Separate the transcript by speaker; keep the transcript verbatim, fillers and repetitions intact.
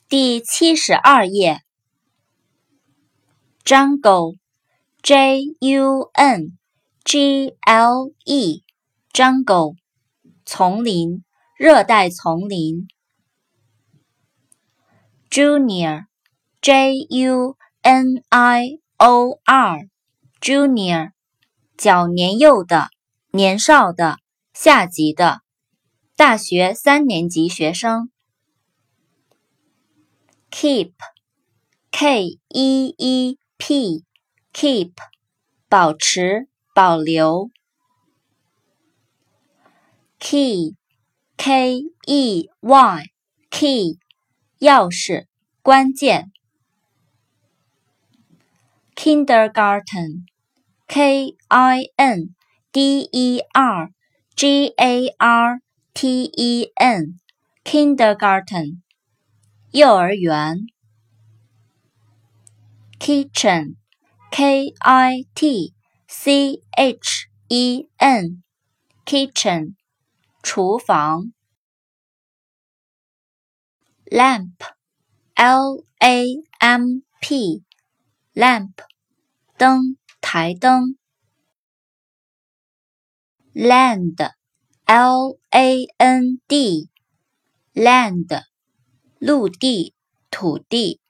Speaker 1: 第七十二页 Jungle J U N G L E Jungle 丛林，热带丛林。Junior J U N I O R Junior 较年幼的，年少的，下级的，大学三年级学生。Keep K E E P Keep 保持，保留。Key K E Y Key 钥匙，关键。Kindergarten K I N D E R G A R T E N Kindergarten 幼儿园。Kitchen K I T C H E N Kitchen 厨房。Lamp L A M P Lamp 灯，台灯。Land L A N D Land 陆地，土地。